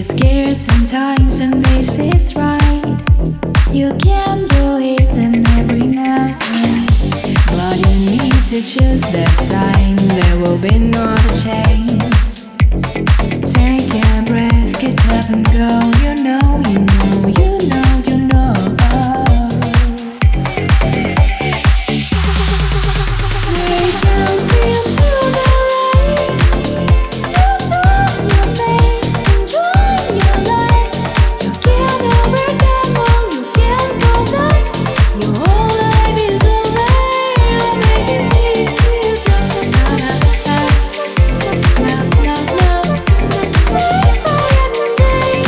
You're scared sometimes, and this is right. You can't believe them every night, but you need to choose that sign. There will be no other chance. Take a breath, get up and go. You know, you know, you know, you know. They can't see until they're late. Just on your face, enjoy your life. You can't overcome all, you can't go back. Your whole life is over. I'll make it please. Say fire and day.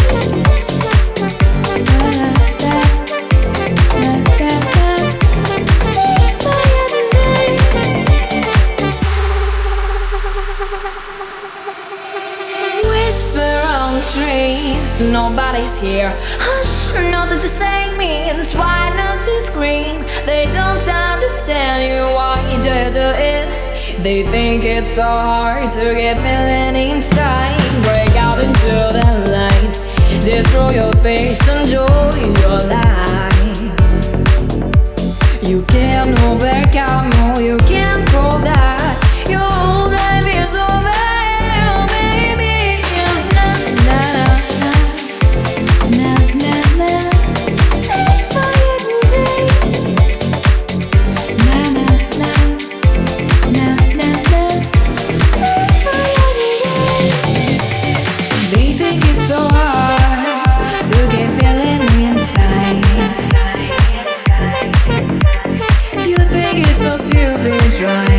Whisper on trees, nobody's here. Hush, nothing to say means why not to scream? They don't understand you, why you do it. They think it's so hard to get feeling inside. Break out into the light, destroy your face, enjoy your life. You can't overcome, no, you can't call that. Your whole life is over, baby. It's na. Say fire and day. Na. Say fire and day. They think it's so hard to get feeling inside. You think it's so stupid, try